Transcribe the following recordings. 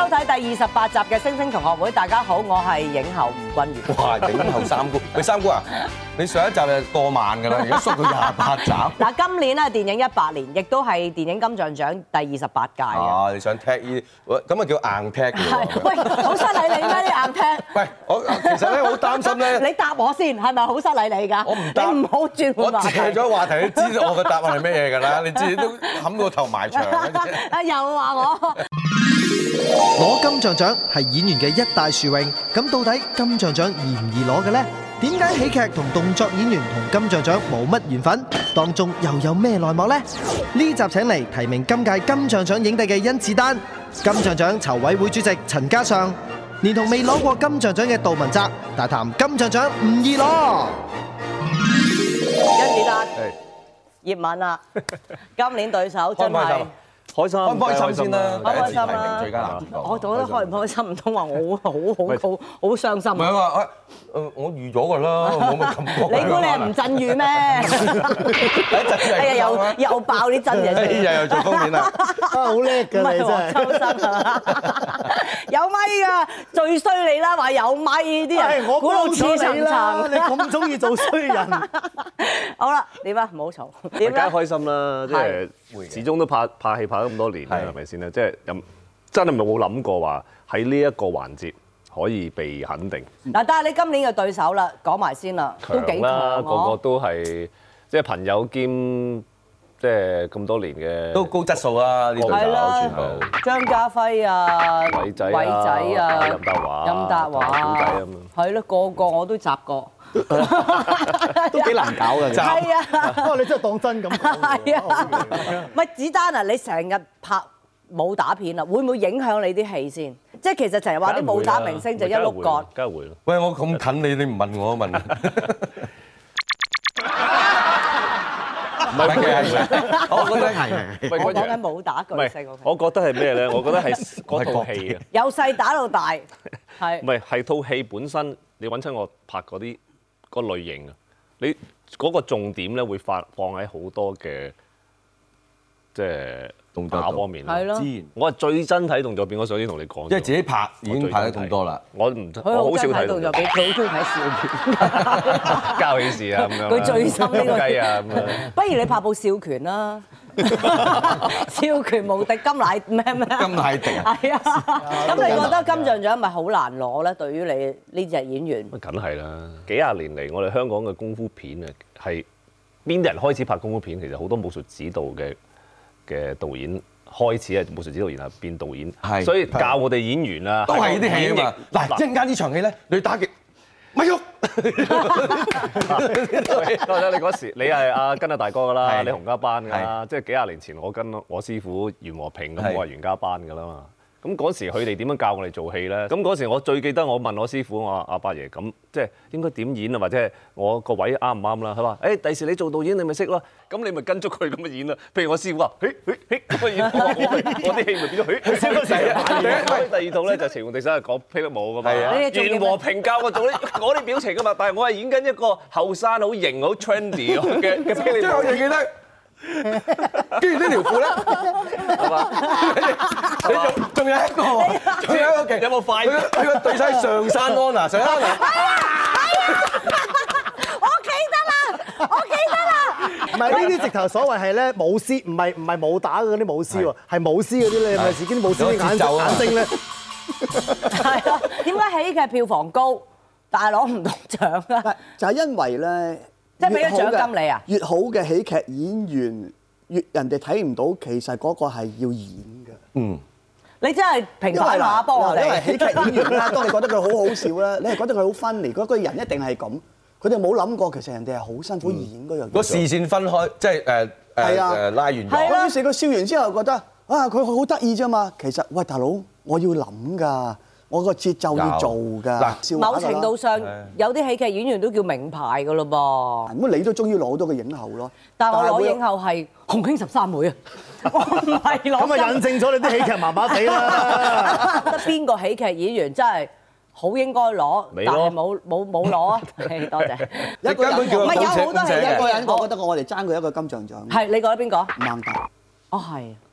睇第28集嘅《星星同學會》，大家好，我係影后吳君如。 哇！影后三姑，喂三姑啊，你上一集就過萬㗎啦，而家縮到28集。 嗱，今年咧電影100年，亦都係電影金像獎第28屆嘅。 啊，你想踢呢啲，咁啊叫硬踢嘅喎。 喂，好失禮你咩？啲硬踢。 喂，我其實咧好擔心咧。 你答我先，係咪好失禮你㗎？ 我唔答。 你唔好轉換話題。 我借咗話題，你知道我嘅答案係咩嘢㗎啦？你自己都冚個頭埋牆嘅啫。 啊，又話我。 攞金像獎係演員嘅一大殊榮，咁到底金像獎易唔易攞嘅呢？點解喜劇同動作演員同金像獎冇乜緣分？當中又有咩內幕呢？呢集請嚟提名今屆金像獎影帝嘅甄子丹，金像獎籌委會主席陳嘉上，連同未攞過金像獎嘅杜汶澤，大談金像獎唔易攞。 甄子丹、葉問啊，今年對手真係。 開心， 開唔開心先啦？ 開唔開心啊？ 第一次提名最佳男主角， 我覺得開唔開心，唔通話我好傷心。 唔係話我預咗㗎啦，冇乜感覺。 你估你係吳鎮宇咩？哎呀，又爆啲真嘢出嚟。 又做封面啦， 好叻㗎你真係。 抽身啊！有咪㗎，最衰你啦，話有咪啲人， 我估到似層層。 你咁中意做衰人。 好啦，點啊？唔好嘈。 梗點咧？ 係開心啦，即係始終都拍戲拍咗咁多年啦，係咪先咧？即係真係冇諗過話喺呢一個環節可以被肯定。 嗱，但係你今年嘅對手啦，講埋先啦，都幾強啦，個個喎。 都係即係朋友兼即係咁多年嘅， 都高質素啦，呢度係啦全部。 張家輝啊， 偉仔啊， 任達華、 任達華古仔咁樣。 係咯，個個我都集過。 都幾難搞㗎。 係啊， 不過你真係當真咁講。 係啊，唔係子丹啊！你成日拍武打片啊，會唔會影響你啲戲先？即係其實成日話啲武打明星就一碌角。 梗係會啦。 喂，我咁近你唔問我問。 唔係嘅，我覺得係。 我講緊武打巨唔星。 係，我覺得係咩咧？我覺得係嗰套戲啊。 由細打到大，係唔係套戲本身？你揾親我拍嗰啲個類型啊，你嗰個重點咧會放喺好多嘅即係動作方面啦。 係咯。 我係最憎睇動作片，我想先同你講。 因為自己拍已經拍得咁多啦。 我好少睇動作片，佢好中意睇笑片。 交起事啊咁樣。 佢最深呢個雞啊咁樣。 不如你拍部笑拳啦。笑拳無敵金乃咩？ 金乃迪啊！ 係啊，咁你覺得金像獎咪好難攞咧？對於你呢隻演員， 梗係啦！幾廿年嚟，我哋香港嘅功夫片啊，係邊啲人開始拍功夫片？其實好多武術指導嘅導演開始係武術指導，然後變導演， 係所以教我哋演員啊， 都係呢啲戲啊嘛。嗱，一陣間呢場戲咧，你打極咪喐。 我覺得你嗰時你係跟阿大哥㗎啦， 係你洪家班㗎啦，即係幾廿年前我跟我師傅袁和平咁，我係袁家班㗎啦嘛。咁嗰時佢哋點樣教我哋做戲咧？咁嗰時我最記得我問我師傅，我話阿伯爺咁即係應該點演啊？或者係我個位啱唔啱啦？佢話：第時你做導演你咪識咯。咁你咪跟足佢咁嘅演啦。譬如我師傅話：咁嘅演，我啲戲咪變咗第二套咧就情共地手係講霹靂舞㗎嘛。袁和平教我做嗰啲表情㗎嘛，但係我係演緊一個後生好型好 trendy 嘅霹靂舞。 即係我仲記得。跟住呢條褲咧， 係嘛？ 你仲有一個勁， 有冇快？ 佢個對手係上山安娜，上山安娜。 我記得啦。 唔係呢啲直頭所謂係咧舞獅，唔係武打嗰啲舞獅喎，係舞獅嗰啲咧，係咪自己啲舞獅啲眼睛咧？ 係啊，點解喜劇票房高，但係攞唔到獎啊？ 就係因為咧， 即係俾咗獎金你啊？ 越好嘅喜劇演員，越人哋睇唔到，其實嗰個係要演嘅。 嗯， 你真係平反下幫我哋。 因為喜劇演員咧，當你覺得佢好好笑咧，你係覺得佢好 funny，嗰個人一定係咁。佢哋冇諗過，其實人哋係好辛苦演嗰樣嘢。 個視線分開，即係拉完咗。 係啊，於是佢笑完之後覺得啊，佢好得意啫嘛。其實喂，大佬，我要諗㗎。我個節奏要做㗎， 某程度上有啲喜劇演員都叫名牌㗎咯噃。 咁你都終於攞到個影后咯。 但係我攞影后係洪興13妹啊，我唔係攞。 咁啊引證咗你啲喜劇麻麻地啦。 得邊個喜劇演員真係好應該攞，但係冇攞啊？多謝。 一個人唔係有好多喜劇一個人，我覺得我哋爭佢一個金像獎。 係你覺得邊個？ 孟達。 哦係。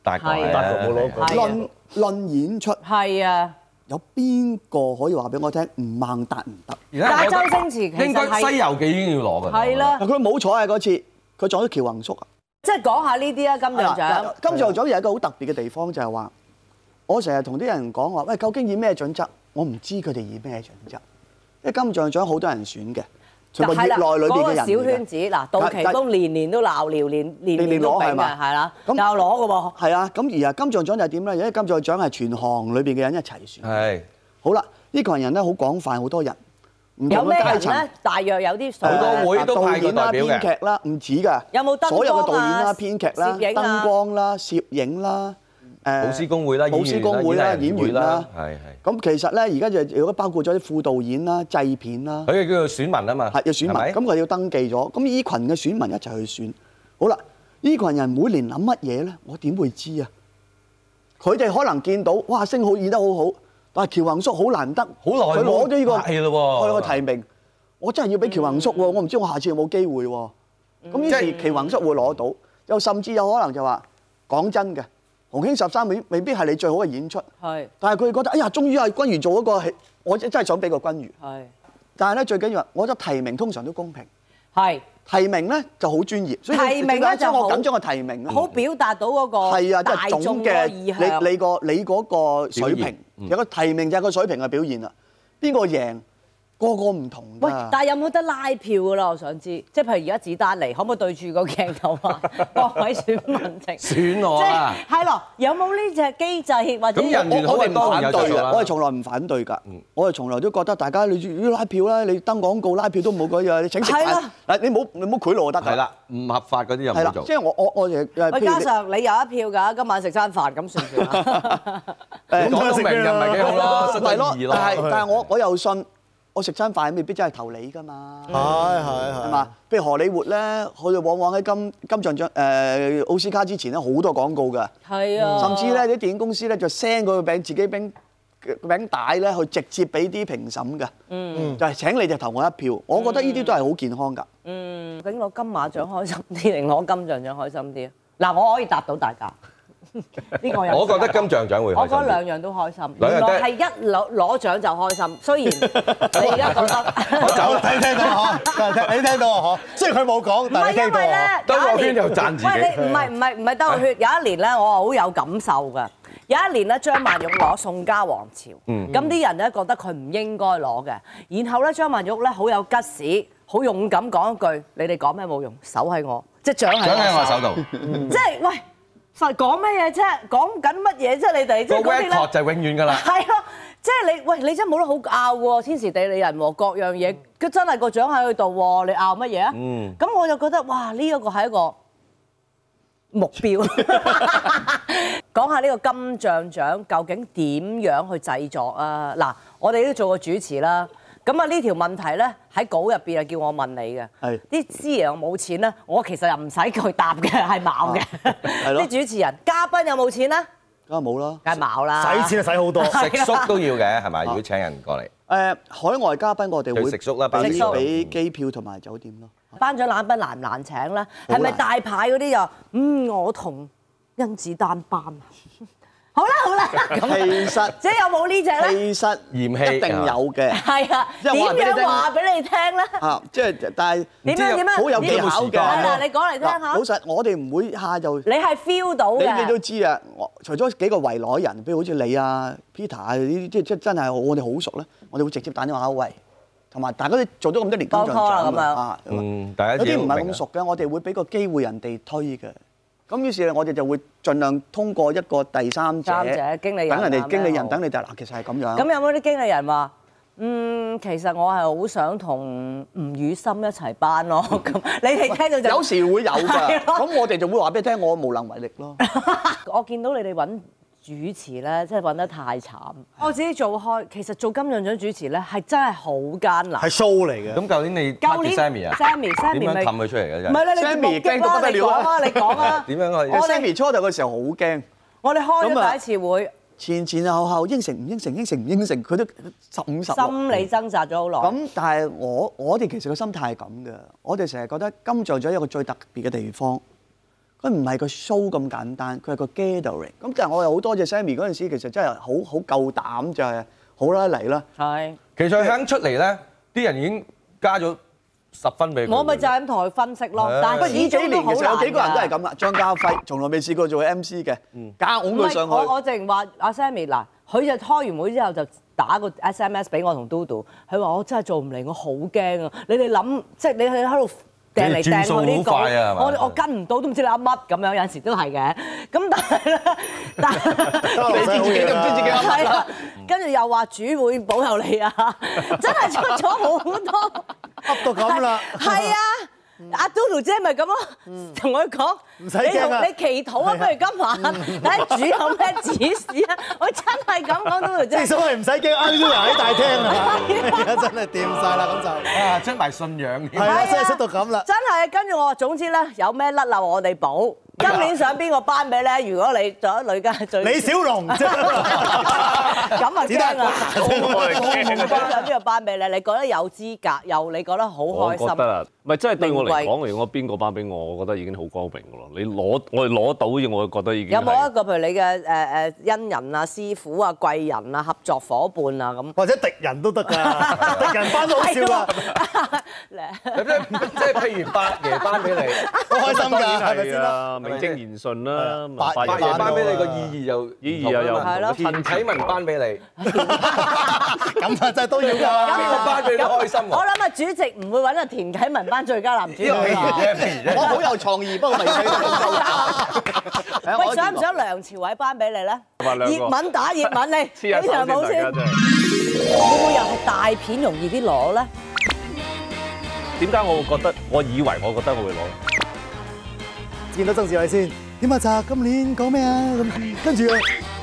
大概係大概冇攞過。 論演出， 係啊， 有邊個可以話俾我聽唔孟達唔得？ 但係周星馳其實應該《 係西遊記》已經要攞㗎。 係啦， 嗱，佢冇彩啊嗰次，佢撞咗喬宏叔啊！ 即係講下呢啲啊，金像獎。 金像獎有一個好特別嘅地方就係話，我成日同啲人講話，喂，究竟以咩準則？我唔知佢哋以咩準則，因為金像獎好多人選嘅，全部業內裏邊嘅人嚟嘅。 嗰個小圈子嗱，杜琪峰年年都鬧聊，年都俾嘅，係啦，又攞嘅喎。 係啊，咁而金像獎就係點咧？因為金像獎係全行裏邊嘅人一齊選。 係。 好啦，呢個人咧好廣泛，好多人。唔有咩同嘅階層人咧？大約有啲好多會都派過代表嘅導演啦、編劇啦，唔止㗎。 有冇燈光啊所有嘅導演啦、編劇啦、 攝影啊燈光啦、攝影啦， 老師公會啦、 老師公會啦、演員啦， 係。 咁其實咧，而家就如果包括咗啲副導演啦、製片啦， 佢哋叫做選民啊嘛， 係要選民，咁佢要登記咗，咁依群嘅選民一齊去選。好啦，依群人每年諗乜嘢咧？我點會知啊？佢哋可能見到哇，星好演得好好，但係喬宏叔好難得， 好耐佢攞咗呢個係咯喎個提名，我真係要俾喬宏叔喎，我唔知我下次有冇機會喎。咁於是喬宏叔會攞到，又甚至有可能就話講真嘅，洪興13未必係你最好嘅演出， 係但係佢覺得哎呀，終於係君如做一個戲，我真係想俾個君如。 係但係咧最緊要係，我覺得提名通常都公平。 係提名咧就好專業，所以提名咧就好我緊張個提名啊， 好表達到嗰個係啊，即大係眾嘅總嘅意向。 你嗰個水平，有個提名就係個水平嘅表現啦。邊個贏，個個唔同喂， 㗎。 但係有冇得拉票㗎啦？我想知，即係譬如而家子丹嚟，可唔可以對住個鏡頭話各位選民請選我啊！ 即係係咯，有冇呢隻機制或者咁人緣好我哋唔當然反對㗎， 有做啦我哋從來唔反對㗎。我哋從來都覺得大家你要拉票啦，你登廣告拉票都冇嗰樣，你請食飯係啦， 嗱你冇賄賂就得㗎。 係啦，唔合法嗰啲又唔係啦， 好做即。係我誒喂，加譬如你上你有一票㗎，今晚食餐飯咁算唔算啊？ 誒講到明就唔係幾好咯，失係咯咗意，咯。 但係我又信，我食餐飯未必真係投你㗎嘛。係嘛？譬如荷里活咧，佢哋往往喺金像獎奧斯卡之前咧好多廣告㗎， 係啊， 甚至咧啲電影公司咧就 send 個餅自己餅帶咧去直接俾啲評審㗎，就係請你就投我一票。我覺得呢啲都係好健康㗎。 究竟攞金馬獎開心啲定攞金像獎開心啲啊？嗱，我可以答到大家。呢個有我覺得金像獎會開心啲。 我覺得兩樣都開心， 兩樣都原來係一攞獎就開心。雖然你而家覺得我走啦， 聽到啊嗬，你聽到啊嗬，雖然佢冇講， 唔係但係你聽到因為咧啊， 兜個圈就讚自己喂，你唔係兜個圈。有一年咧，我係好有感受㗎。有一年咧，張曼玉攞宋家王朝，咁啲人咧覺得佢唔應該攞嘅。然後咧，張曼玉咧好有吉士，好勇敢講一句：你哋講咩冇用，手喺我，即係獎獎喺我喺手度， 即係喂，實講咩嘢啫？講緊乜嘢啫？你哋即係個嗰啲咧 record 就永遠㗎啦。 係咯，即係你喂，你真係冇得好拗喎，天時地利人和各樣嘢，佢真係個獎喺佢度喎，你拗乜嘢啊？咁我就覺得哇，呢一個係一個目標。講下呢個金像獎究竟點樣去製作啊？嗱，我哋都做過主持啦。咁啊呢條問題咧喺稿入邊啊叫我問你嘅， 係啲師爺又冇錢咧，我其實又唔使佢答嘅，係冇嘅。 係咯啲主持人嘉賓有冇錢咧？ 梗係冇啦。 梗係冇啦。 使錢就使好多。 食宿都要嘅係咪？如果請人過嚟， 海外嘉賓我哋會佢食宿啦，包俾食宿。 俾機票同埋酒店咯。 頒獎禮賓難唔難請咧？ 好難係咪大牌嗰啲又我同甄子丹班啊？好啦，咁其實即係有冇呢只咧？ 其實嫌棄一定有嘅。 係啊， 因為我話俾你點樣聽話俾你聽咧？ 啊，即係但係點樣好有技巧嘅。 係啦，你講嚟聽嗱下老。實，我哋唔會下就。 你係 feel 到你都嘅， 知啊，除咗幾個圍內人，譬如好似你啊、Peter 啊呢啲，即係真係我哋好熟咧，我哋會直接打電話喂，同埋大家都做咗咁多年金像當拖啦咁樣獎啊， 大家有啲唔係咁熟。 熟嘅，我哋會俾個機會人哋推嘅。咁於是我哋就會盡量通過一個第三者， 經理人啊等人哋經理人， 咩好等你哋嗱，其實係咁樣。 咁有冇啲經理人話？其實我係好想同吳宇森一齊班咯。咁你哋聽到就有時會有㗎， 係咯咁我哋就會話俾你聽，我無能為力咯。 我見到你哋揾主持咧，真係揾得太慘。我自己做開，其實做金像獎主持咧係真係好艱難。 係 show 嚟嘅。 咁舊年你舊年 Sammy 啊 Sammy 點樣咪氹佢出嚟嘅啫？ 唔係咧，你 Sammy 驚驚到不得了啊你講啊！ 點樣可以我哋 Sammy 初頭嘅時候好驚， 我哋開咁啊咗第一次會， 前後應承唔應承，應承唔應承，佢都15-16。 心理掙扎咗好耐。 咁但係我哋其實個心態係咁嘅，我哋成日覺得金像獎有一個最特別嘅地方， 佢唔係個 show 咁簡單，佢係個 gathering。咁但係我又好多謝 Sammy 嗰陣時，其實真係好夠膽，就係好啦嚟啦。 係。 其實佢肯出嚟咧，啲人已經加咗10分俾佢。 我咪就係咁同佢分析咯。但係呢幾年其實有幾個人都係咁㗎。 啦。張家輝從來未試過做 MC 嘅，夾擁佢上去。 我淨話阿 Sammy 嗱，佢就開完會之後就打個 SMS 俾我同 Dodo，佢話我真係做唔嚟，我好驚啊！你哋諗即係你喺度掟嚟掟去呢個，我跟唔到都唔知你噏乜咁樣，有陣時都係嘅。咁但係咧， 你知自己都唔知自己噏乜啦。 跟住又話主會保佑你啊！真係出咗好多， 噏到咁啦。 係啊！阿 Dodo 姐咪咁咯，同佢講唔使驚啊！ 你祈禱啊，不如今晚睇下主有咩指示啊！我真係咁講，Dodo 姐。 即係所謂唔使驚 Angela 喺大廳啊！而家真係掂晒啦，咁就啊，出埋信仰添。 係啦，真係出到咁啦。 真係，跟住我話總之咧，有咩甩漏我哋補。今年想邊個頒俾咧？如果你做咗女家最李小龍啫， 咁啊驚啦！ 我想邊個頒俾你？你覺得有資格，又你覺得好開心？ 覺得啊，唔係真係對我嚟名講，如果邊個頒俾我，我覺得已經好光榮㗎咯。我哋攞到嘅，我覺得已經有冇一個譬如你嘅恩人啊、師傅啊、貴人啊、合作伙伴啊咁？ 或者敵人都得㗎，敵人頒都好笑啊！ 即係譬如八爺頒俾你， 好開心㗎，係咪先係啦？ 啊，名正言順啦。 八八爺頒俾你個意義又係咯田啟文頒俾你， 咁啊真係都要㗎。 邊個頒俾你開心我喎？ 諗啊，主席唔會揾阿田啟文頒最佳男主角譬如㗎。 啫，譬如啫。 我好有創意，不過未睇到。 喂，想唔想梁朝偉頒俾你咧？ 兩個葉問打葉問你， 黐下手呢場冇先。 先，大家真係。 會唔會又係大片容易啲攞咧？ 點解我會覺得？我以為我覺得我會攞。 見到曾志偉先，點啊？澤今年講咩啊？咁跟住啊，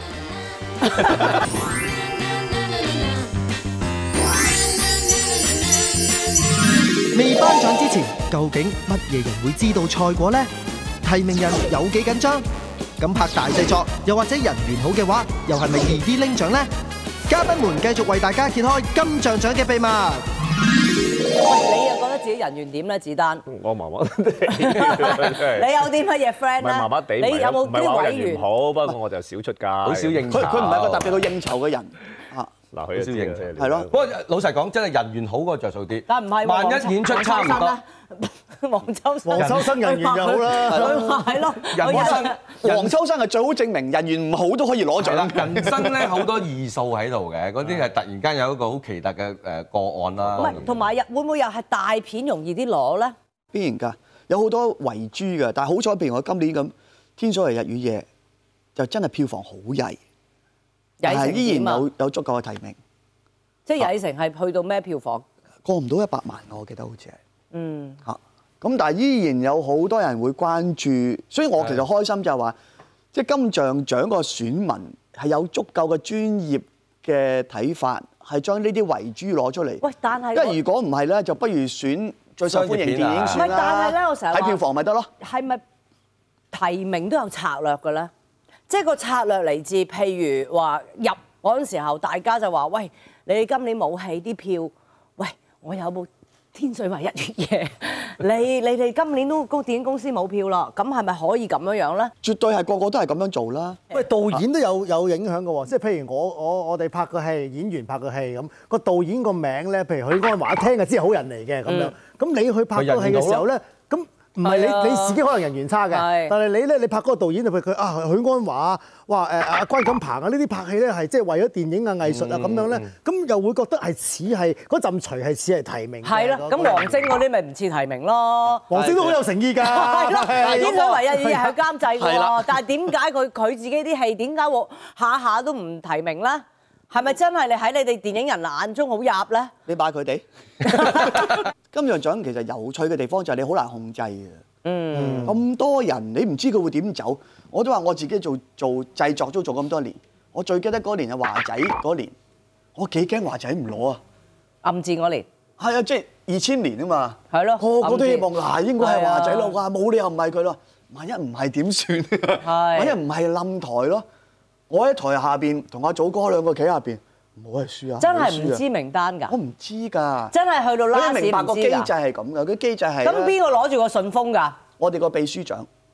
未頒獎之前，究竟乜嘢人會知道賽果呢？提名人有幾緊張？咁拍大製作，又或者人緣好嘅話，又係咪易啲拎獎呢？嘉賓們繼續為大家揭開金像獎嘅秘密。 喂，你又覺得自己人緣點咧？子丹， 我麻麻地， 你有啲乜嘢 friend 咧？ 唔係麻麻地， 你有冇唔係話啲委員？ 人緣好，不過我就少出街， 好少應酬。 佢唔係一個特別到應酬嘅人啊。 嗱，佢就知應嘅係咯不過老實講，真係人緣好嗰個着數啲。 但唔係喎萬一演出差唔多， 黃秋生， 黃秋生人緣就好啦佢話係咯， 人生黃秋生係最好證明人緣唔好都可以攞獎係啦，人生咧好多異數喺度嘅，嗰啲係突然間有一個好奇特嘅個案啦。 唔係，同埋會唔會又係大片容易啲攞咧？ 必然㗎，有好多遺珠㗎。但係好彩，譬如我今年咁《天所謂日與夜》，就真係票房好曳，但係依然有足夠嘅提名。 即係曳成係去到咩票房？ 過唔到100萬，我記得好似係。 嗯。 嚇，咁但係依然有好多人會關注，所以我其實開心就係話，即係金像獎個選民係有足夠嘅專業嘅睇法，係將呢啲遺珠攞出嚟。 喂，但係因為如果唔係咧，就不如選最受歡迎電影唔係， 算啦。 但係咧，我成日話睇票房咪得咯。 係咪提名都有策略嘅咧？即係個策略嚟自，譬如話入嗰陣時候，大家就話：喂，你哋今年冇戲啲票，喂，我有冇天水圍一月夜？你哋今年都個電影公司冇票啦，咁係咪可以咁樣樣咧？ 絕對係個個都係咁樣做啦。 喂，導演都有影響嘅喎，即係譬如我哋拍個戲，演員拍個戲咁，個導演個名咧，譬如許鞍華一聽就知係好人嚟嘅咁樣。咁你去拍個戲嘅時候咧，咁唔係你自己可能人緣差嘅，但係你咧，你拍嗰個導演就譬如佢啊許鞍華，哇阿關錦鵬啊呢啲拍戲咧係即係為咗電影啊藝術啊咁樣咧，咁又會覺得係似係嗰陣除係似係提名。 係咯，咁王晶嗰啲咪唔似提名咯？ 王晶都好有誠意㗎。 係咯，天水圍一月夜係監製係啦喎，但係點解佢自己啲戲點解下下都唔提名咧？係咪真係你喺你哋電影人眼中好入咧？ 你買佢哋金像獎其實有趣嘅地方就係你好難控制嘅。咁多人你唔知佢會點走。我都話我自己做製作都做咁多年，我最記得嗰年係華仔嗰年，我幾驚華仔唔攞啊！ 暗戰嗰年係啊，即係2000年啊嘛。 係咯， 個個都希望嗱應該係華仔咯， 係啊哇冇理由唔係佢咯。萬一唔係點算？萬一唔係冧台咯。我喺台下邊同阿祖哥兩個企下邊，唔好係輸啊！ 真係唔知名單㗎。 我唔知㗎。 真係去到 last 你明白個機制唔知㗎。 係咁嘅，佢機制係。 咁邊個攞住個順豐㗎？ 我哋個秘書長。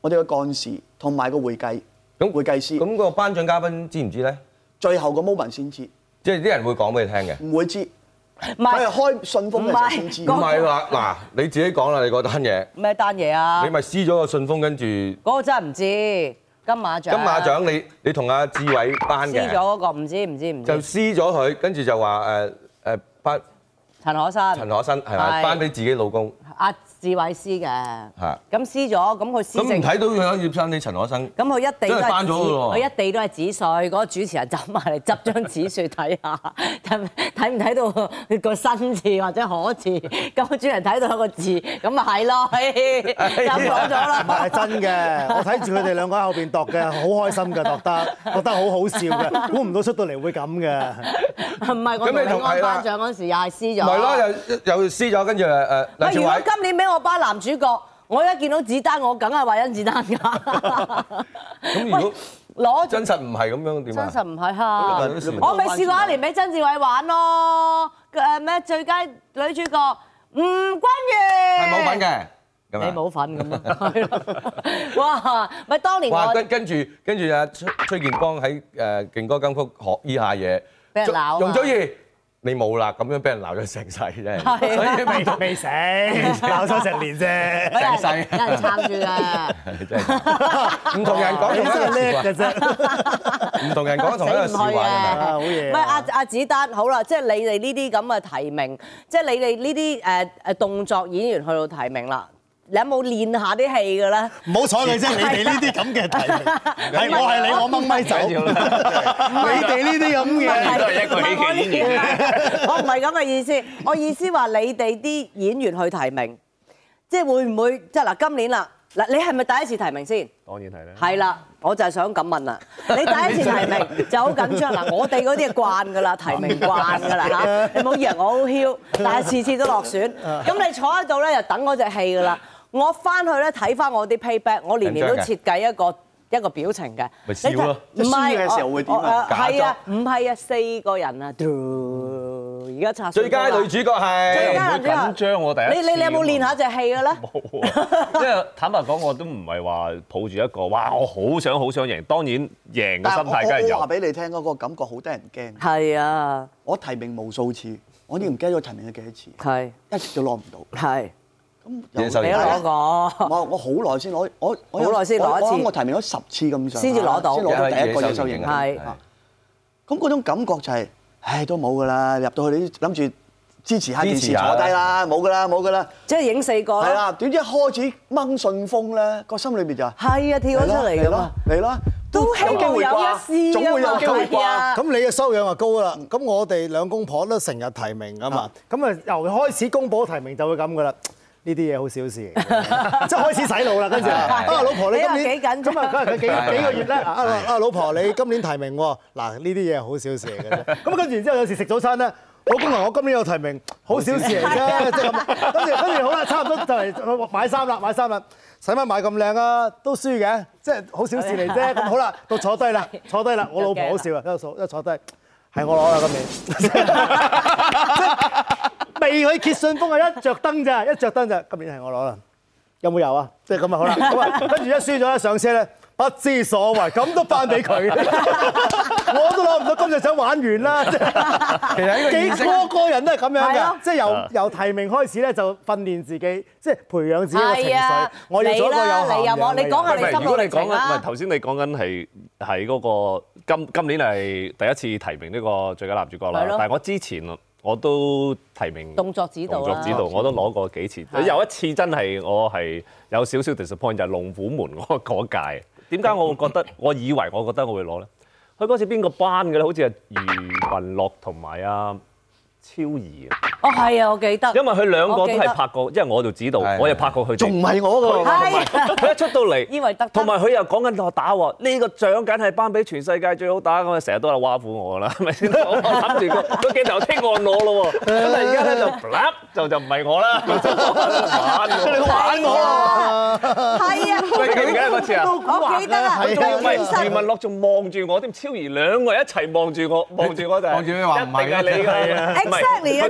我哋嘅幹事同埋個會計師。 咁個頒獎嘉賓知唔知咧？ 最後個 moment 先知， 即係啲人會講俾你聽嘅。 唔會知。 唔係佢係開信封嘅時候先知。 唔係話嗱，你自己講啦，你嗰單嘢。 咩單嘢啊？ 你咪撕咗個信封，跟住嗰個真係唔知金馬獎。 金馬獎你同阿志偉頒嘅。 撕咗嗰個唔知。 就撕咗佢，跟住就話頒陳可辛係咪頒俾自己老公？ 阿志偉撕嘅。 係。 咁撕咗，咁佢撕剩。 咁唔睇到佢葉生你陳可辛？ 咁佢一地都係頒咗㗎喎。 佢一地都係紙碎，嗰個主持人走埋嚟執張紙碎睇下，睇唔睇到個新字或者可字？咁個主持人睇到有個字，咁咪係咯，就講咗啦。 唔係真嘅，我睇住佢哋兩個喺後邊度嘅，好開心嘅度得，覺得好好笑嘅，估唔到出到嚟會咁嘅。 唔係我同你安頒獎嗰時又係撕咗。 唔係咯，又撕咗，跟住喂，如果今年俾我頒男主角，我一見到子丹，我梗係話甄子丹㗎。 咁如果攞真實唔係咁樣點啊？ 真實唔係嚇，我咪試過一年俾曾志偉玩咯。咩最佳女主角吳君如係冇份嘅。 你冇份咁啊？係咯。哇！咪當年我跟住阿崔建邦喺勁歌金曲學依下嘢， 俾人鬧。 容祖兒你冇啦，咁樣俾人鬧咗成世啫。 所以未死，鬧咗成年啫。 成世有人撐住㗎。 真係唔同人講同一個叻嘅啫， 唔同人講同一個笑話㗎嘛。 好嘢。 唔係阿子丹好啦，即係你哋呢啲咁嘅提名，即係你哋呢啲誒動作演員去到提名啦。你有冇練下啲戲㗎咧？ 唔好睬佢啫，你哋呢啲咁嘅題目，係我係你，我掹咪走。你哋呢啲咁嘅都係一個喜劇演員。 我唔係咁嘅意思，我意思話你哋啲演員去提名，即係會唔會即係嗱今年啦嗱，你係咪第一次提名先？ 當然係啦。 係啦，我就係想咁問啦。你第一次提名就好緊張嗱，我哋嗰啲係慣㗎啦，提名慣㗎啦嚇。你唔好以為我好囂，但係次次都落選。咁你坐喺度咧，就等嗰隻戲㗎啦。我翻去咧睇翻我啲 payback， 我年年都設計一個表情嘅。 咪笑咯！ 唔係嘅時候會點啊？ 係啊，唔係啊，4個人啊，而家拆最佳女主角係。 最佳女主角緊張我第一次。 你有冇練下隻戲嘅咧？ 冇啊！即係坦白講，我都唔係話抱住一個哇，我好想贏。當然贏嘅心態梗係有。 我話俾你聽嗰個感覺好得人驚。 係啊， 我提名無數次，我已經唔記得咗提名咗幾多次， 係一直都攞唔到。 係。 咁你都攞過。 我好耐先攞，我好耐先攞一次。 我提名咗10次咁上下， 先至攞到， 先攞到第一個野獸型。 係。 咁嗰種感覺就係，唉，都冇㗎啦，入到去你諗住支持下電視坐低啦，冇㗎啦。 即係影4個。 係啦，點知一開始掹信封咧，個心裏邊就係啊，跳咗出嚟㗎嘛。 嚟啦， 都希望有一試總會有機會啩。 咁你嘅修養就高啦。咁我哋兩公婆都成日提名㗎嘛。咁啊，由開始公佈提名就會咁㗎啦。呢啲嘢好小事嚟嘅，即係開始洗腦啦。跟住老婆你今年幾緊張咁啊，佢幾個月咧？老婆你今年提名喎。嗱，呢啲嘢好小事嚟嘅啫。咁跟住然之後有時食早餐咧，老公話我今年有提名，好小事嚟啫，即係咁。跟住好啦，差唔多就嚟買衫啦，使乜買咁靚啊？都輸嘅，即係好小事嚟啫。咁好啦，到坐低啦，我老婆好笑啊，一坐低係我攞啦今年。未去揭信封啊！一着燈咋，今年係我攞啦。有冇油啊？即係咁啊，好啦。咁啊，跟住一輸咗咧，上車咧，不知所謂，咁都頒俾佢。我都攞唔到金像獎玩完啦。其實呢個人都係咁樣嘅，即係由提名開始咧，就訓練自己，即係培養自己嘅情緒。我要做一個有涵養。 你講下你心路歷程啦。 唔係頭先你講緊係嗰個今年係第一次提名呢個最佳男主角啦。但係我之前我都提名動作指導我都攞過幾次。有一次真係我係有少少 disappoint， 就係龍虎門嗰屆。點解我會覺得？我覺得我會攞咧？佢嗰次邊個頒嘅咧？好似係余文樂同埋阿超兒啊！ 哦，係啊，我記得。 因為佢兩個都係拍過，因為我做指導，我又拍過佢。 仲唔係我㗎？ 佢一出到嚟， 以為得。同埋佢又講緊我打喎，呢個獎梗係頒俾全世界最好打咁啊！成日都係挖苦我啦，係咪先？我諗住個鏡頭聽我攞咯喎，咁啊而家咧就唔係我啦，你玩我啊！ 係啊， 記唔記得嗰次啊？ 我記得啊， 余文樂仲望住我，添超兒兩個一齊望住我就係。 望住你話唔係你㗎。 Exactly 啊，真係。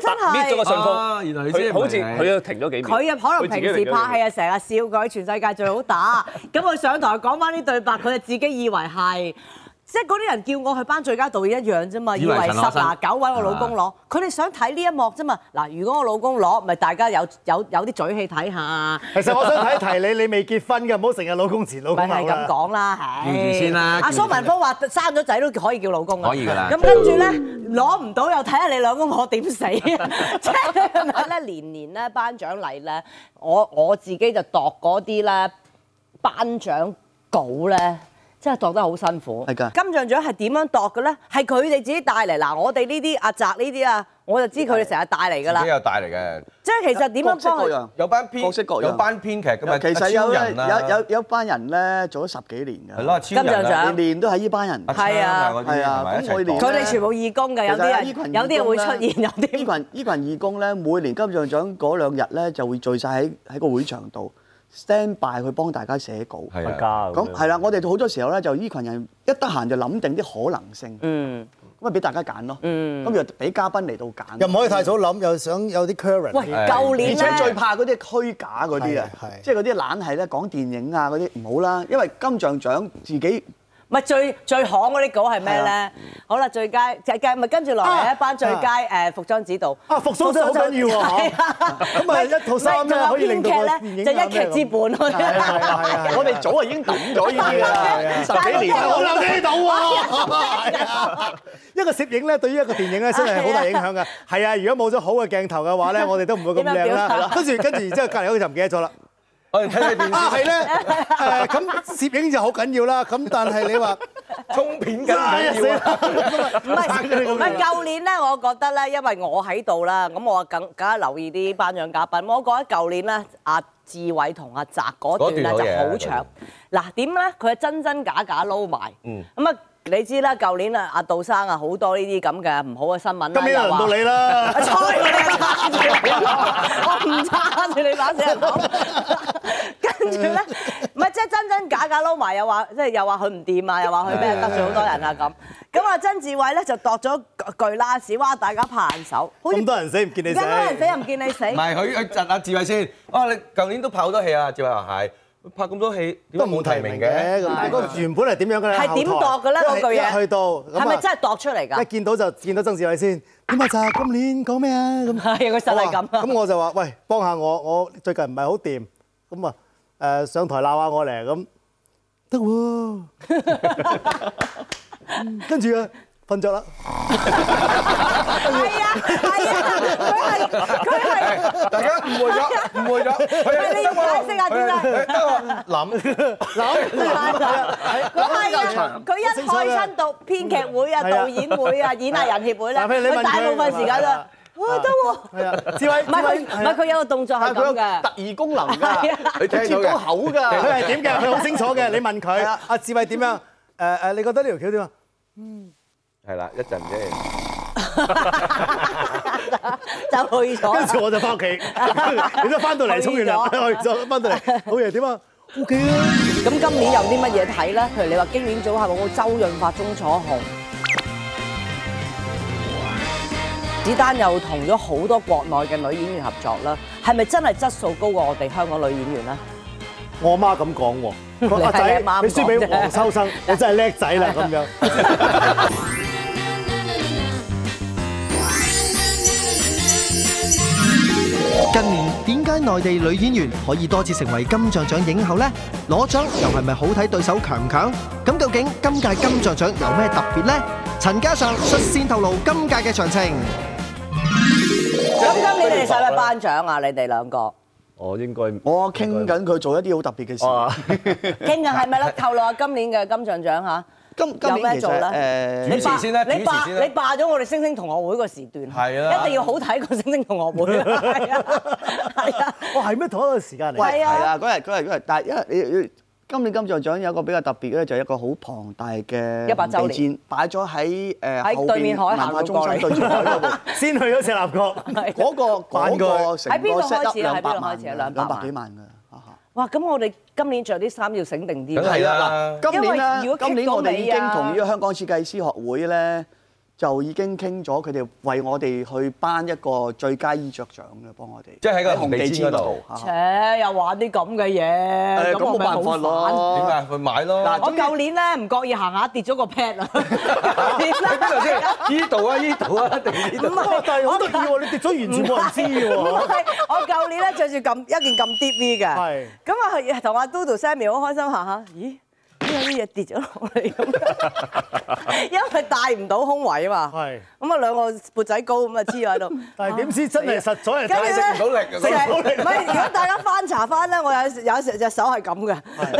咗個信封， 原來你佢好似佢停咗幾秒。 佢啊可能平時拍戲啊，成日笑佢全世界最好打，咁佢上台講翻啲對白，佢就自己以為係。即係嗰啲人叫我去頒最佳導演一樣啫嘛，以為10拿9位我老公攞，佢哋想睇呢一幕啫嘛。嗱，如果我老公攞，咪大家有啲嘴氣睇下。 其實我想提提你未結婚嘅，唔好成日老公前老公後啦。 咪係咁講啦， 叫住先啦。 阿蘇文峰話生咗仔都可以叫老公啊。 可以㗎啦。 咁跟住咧攞唔到又睇下你兩公婆點死啊！即係係咪咧？年年咧頒獎禮咧，我自己就度嗰啲咧頒獎稿咧。真係度得好辛苦。 係㗎。 金像獎係點樣度嘅咧？係佢哋自己帶嚟。嗱，我哋呢啲阿澤呢啲啊，我就知佢哋成日帶嚟㗎啦。 自己有帶嚟嘅。 即係其實點樣幫佢？ 有班編， 各式各樣有班編劇㗎嘛。 其實有班人咧做咗10幾年㗎。 係咯， 金像獎年年都係呢班人。 係啊， 係啊，咁我哋佢哋全部義工㗎，有啲人會出現，有啲呢群義工咧，每年金像獎嗰2日咧就會聚晒喺個會場度。stand by 去幫大家寫稿， 係啊， 咁係啦，我哋好多時候咧就呢群人一得閒就諗定啲可能性，咁啊俾大家揀咯，咁又俾嘉賓嚟到揀， 又唔可以太早諗，又想有啲 current。 喂，舊年而且最怕嗰啲虛假嗰啲啊，即係嗰啲懶係咧講電影啊嗰啲唔好啦，因為金像獎自己。 唔係最行嗰啲稿係咩咧？好啦，最佳咪跟住落嚟一班最佳服裝指導。 服裝真係好緊要喎！咁啊一套衫咧可以令到個電影就一劇之本。係我哋早已經抌咗呢啲啦，10幾年我留喺度喎。一個攝影咧對於一個電影咧真係好大影響㗎。係啊，如果冇咗好嘅鏡頭嘅話咧，我哋都唔會咁靚啦。跟住然之後隔離嗰個就唔記得咗啦。 我哋睇睇電視。 係咧，咁攝影就好緊要啦。咁但係你話沖片緊緊要啊！ 唔係舊年咧，我覺得咧，因為我喺度啦，咁我梗係留意啲頒獎嘉賓。我覺得舊年咧，阿志偉同阿澤嗰段咧就好長。嗱點咧？佢係真真假假撈埋。咁啊，你知啦，舊年啊，阿杜生啊好多呢啲咁嘅唔好嘅新聞啦。 今年輪到你啦！ 猜我唔揸住你把死人講。跟住咧，唔係即係真真假假撈埋，又話即係又話佢唔掂啊，又話佢咩得罪好多人啊咁。咁啊，曾志偉咧就度咗巨拉屎，哇！大家拍眼手， 咁多人死唔見你死， 咁多人死又唔見你死。 唔係佢窒阿志偉先。啊，你舊年都拍好多戲啊，志偉話係。拍咁多戲都冇提名嘅，咁嗰原本係點樣嘅咧？ 係點度嘅咧？嗰句嘢去到係咪真係度出嚟㗎？ 一見到就見到曾志偉先。點啊？就今年講咩啊？咁係佢實係咁啊！ 咁我就話：喂，幫下我最近唔係好掂，咁啊上台鬧下我嚟咁得喎。跟住啊瞓着啦。 係啊，佢係大家誤會咗。 你要解釋下點解？ 諗， 佢一開親到編劇會啊、導演會啊、演藝人協會咧，佢大部分時間都哇得喎。 係啊，志偉唔係佢有個動作係咁嘅， 特異功能㗎， 佢接到口㗎。 佢係點嘅？佢好清楚嘅。你問佢，阿志偉點樣？你覺得呢條橋點啊？ 係啦，一陣啫。 就去咗。 跟住我就翻屋企，你都翻到嚟沖完涼，去咗翻到嚟，好嘢點啊 ？OK 啊。 咁今年有啲乜嘢睇咧？譬如你話經典組合，我周潤發、鐘楚紅，子丹又同咗好多國內嘅女演員合作啦，係咪真係質素高過我哋香港女演員咧？ 我媽咁講喎，阿仔你輸俾黃秋生，你真係叻仔啦咁樣。 近年點解內地女演員可以多次成為金像獎影后呢？攞獎又係咪好睇對手強唔強？咁究竟今屆金像獎有咩特別呢？陳嘉上率先透露今屆嘅詳情。 咁今年你哋使唔使頒獎啊？你哋兩個？ 我應該我傾緊佢做一啲好特別嘅事。 傾緊係咪咧？透露下今年嘅金像獎嚇。 今有咩年其做咧？ 實主持先啦， 你霸咗我哋星星同學會個時段， 係啊， 一定要好睇過星星同學會。係啊， 哇係咩同一個時間嚟？ 係啊， 係啊，嗰日，但係因為你今年金像獎有一個比較特別嘅咧，就係一個好龐大嘅 100週年戰擺咗喺喺對面海文化中心對住海嗰度， 先去咗赤鱲角， 嗰個成個 set up 喺邊度開始啊 200幾萬㗎。 哇！咁我哋今年着啲衫要醒定啲。 係啊，嗱，今年因為如果今年我哋已經同呢呢個香港設計師學會咧就已經傾咗，佢哋為我哋去頒一個最佳衣着獎嘅，幫我哋。 即係喺個紅地氈嗰度。 切，又玩啲咁嘅嘢， 咁冇辦法咯。 點解？去買咯。 嗱， 我舊年咧唔覺意行下跌咗個 pad 啊！ 喺邊度先？呢度啊，呢度啊，定呢度？ 唔係， 但係好得意喎，你跌咗完全冇人知喎。 唔係，我舊年咧着住一件咁 deep V 嘅， 係咁啊同阿 Dodo Sammy 好開心行下，咦？有啲嘢跌咗落嚟咁，因為帶唔到胸圍啊嘛。 係。 咁啊兩個缽仔糕咁啊黐咗喺度。 但係點知真係實在係跟住咧食唔到力食唔到力。唔係，如果大家翻查翻咧，我有時隻手係咁嘅，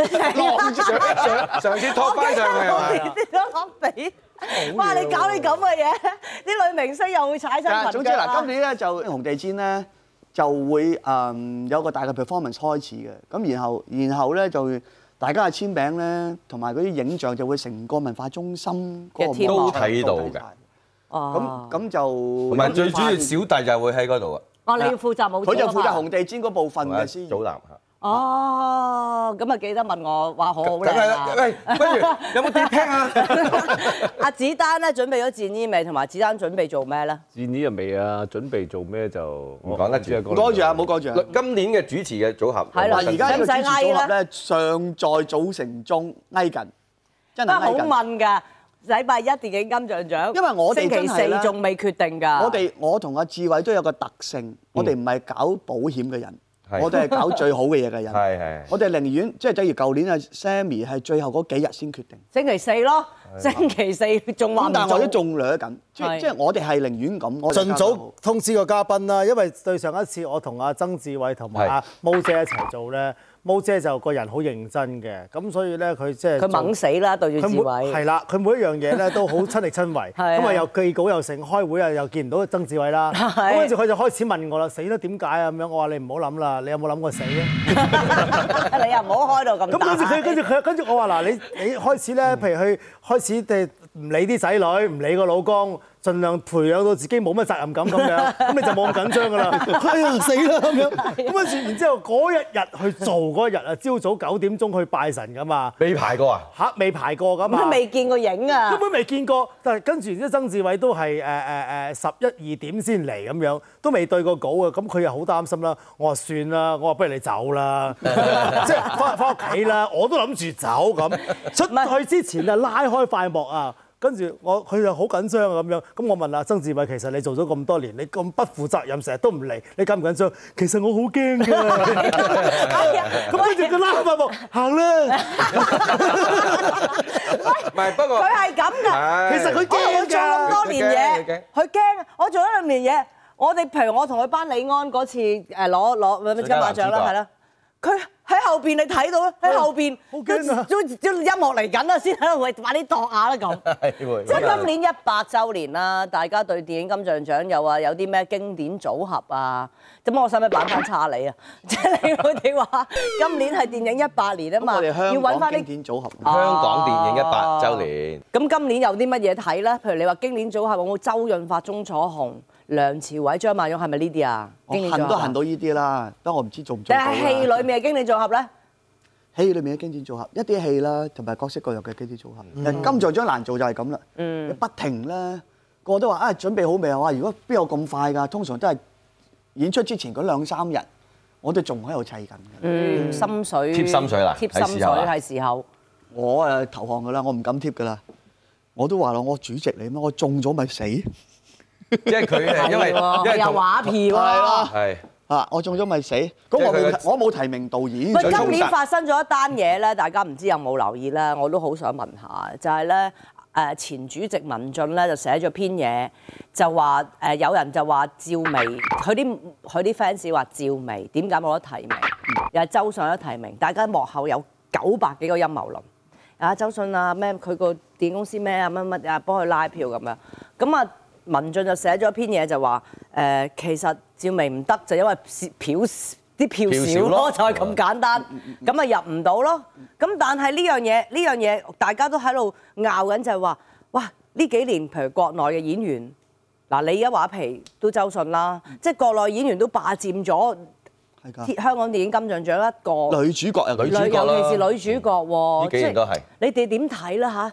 上次拖翻上去係咪？ 跌咗落地。哇！你搞啲咁嘅嘢，啲女明星又會踩親裙。 總之嗱，今年咧就紅地氈咧就會有個大嘅 performance 開始嘅，咁然後咧就大家嘅簽名咧同埋嗰啲影像就會成個文化中心嗰個都睇到嘅。 哦。 咁就同埋最主要小弟就會喺嗰度啊。 哦，你要負責舞。 佢就負責紅地氈嗰部分嘅先。 祖藍嚇。 哦，咁啊記得問我話好好靚啊！ 喂，不如有冇啲 pack 啊？ 阿子丹咧準備咗戰衣未？同埋子丹準備做咩咧？ 戰衣又未啊，準備做咩就唔講得住。 唔講住啊，唔好講住啊！ 今年嘅主持嘅組合係啦， 而家呢個主持組合使唔使咧尚在組成中，挨緊，真係好挨緊。 問㗎，禮拜一電影金像獎， 因為我哋星期真係咧四仲未決定㗎。 我同阿志偉都有個特性，我哋唔係搞保險嘅人， 係我哋係搞最好嘅嘢嘅人。 係。 我哋寧願即係正如舊年啊 Sammy 係最後嗰幾日先決定。 星期四咯，星期四仲話唔做咁但係我都仲掠緊，即係係我哋係寧願咁，我哋盡早通知個嘉賓啦，因為對上一次我同阿曾志偉同埋阿毛姐一齊做咧，毛姐就個人好認真嘅，咁所以咧佢即係佢猛死啦，對住志偉。 係啦，佢每一樣嘢咧都好親力親為， 係啊咁啊又記稿又成，開會啊又見唔到曾志偉啦，咁跟住佢就開始問我啦，死啦點解啊咁樣？我話你唔好諗啦，你有冇諗過死啊？ 你又唔好開到咁大。 跟住我話嗱，你開始咧，譬如去開始唔理啲仔女，唔理個老公，盡量培養到自己冇乜責任感咁樣，咁你就冇咁緊張噶啦。哎呀死啦咁樣，咁跟住然之後嗰一日去做嗰日啊，朝早9點鐘去拜神噶嘛。 未排過啊？ 嚇，未排過噶嘛。 都未見過影啊。 根本未見過，但係跟住然之後曾志偉都係11、2點先嚟咁樣，都未對過稿啊。咁佢又好擔心啦。我話算啦，我話不如你走啦，即係翻屋企啦。我都諗住走咁，出去之前啊拉開塊幕啊。跟住佢就好緊張啊咁樣，咁我問阿曾志偉，其實你做咗咁多年，你咁不負責任，成日都唔嚟，你緊唔緊張？其實我好驚㗎。咁跟住佢拉塊幕行啦。 唔係，不過佢係咁㗎。 其實佢驚我做咁多年嘢，佢驚。我做咗2年嘢，我哋譬如我同佢頒李安嗰次攞金馬獎啦，係啦，佢喺後邊你睇到啦，喺後邊都音樂嚟緊啦，先喺度喂快啲度下啦咁。即係今年100週年啦，大家對電影金像獎又話有啲咩經典組合啊？咁我使唔使擺翻叉你啊？即係佢哋話今年係電影100年啊嘛，要揾翻啲經典組合。 香港電影100週年。 咁今年有啲乜嘢睇咧？譬如你話經典組合有冇周潤發、鐘楚紅、梁朝偉、張曼玉係咪呢啲啊？ 我恨都恨到呢啲啦，不過我唔知做唔做到啦。 但係戲裏面嘅經典組合咧？ 戲裏面嘅經典組合，一啲戲啦，同埋各式各樣嘅經典組合。金像獎難做就係咁啦，不停咧，個個都話準備好未啊？哇！如果邊有咁快㗎？通常都係演出之前嗰2-3日，我哋仲喺度砌緊嘅。 心水貼心水啦， 貼心水係時候。 我投降㗎啦，我唔敢貼㗎啦。我都話啦，我主席嚟咩？我中咗咪死。 即係佢係因為有畫票啊。 係。 我中咗咪死，咁我冇提名導演。 喂，今年發生咗一單嘢咧，大家唔知有冇留意咧？我都好想問下，就係咧前主席文俊咧就寫咗篇嘢，就話有人就話趙薇，佢啲 fans 話趙薇點解冇得提名，又係周迅有得提名，大家幕後有900幾個陰謀論。周迅啊咩，佢個電影公司咩啊乜乜啊幫佢拉票咁樣，咁啊。文俊就寫咗篇嘢就話其實趙薇唔得就因為啲票少咯，就係咁簡單，咁啊入唔到咯。咁但係呢樣嘢大家都喺度拗緊就係話，哇呢幾年譬如國內嘅演員，嗱你而家話皮都周迅啦，即係國內演員都霸佔咗香港電影金像獎一個女主角啊， 尤其是女主角喎， 呢幾年都係。 你哋點睇啦嚇？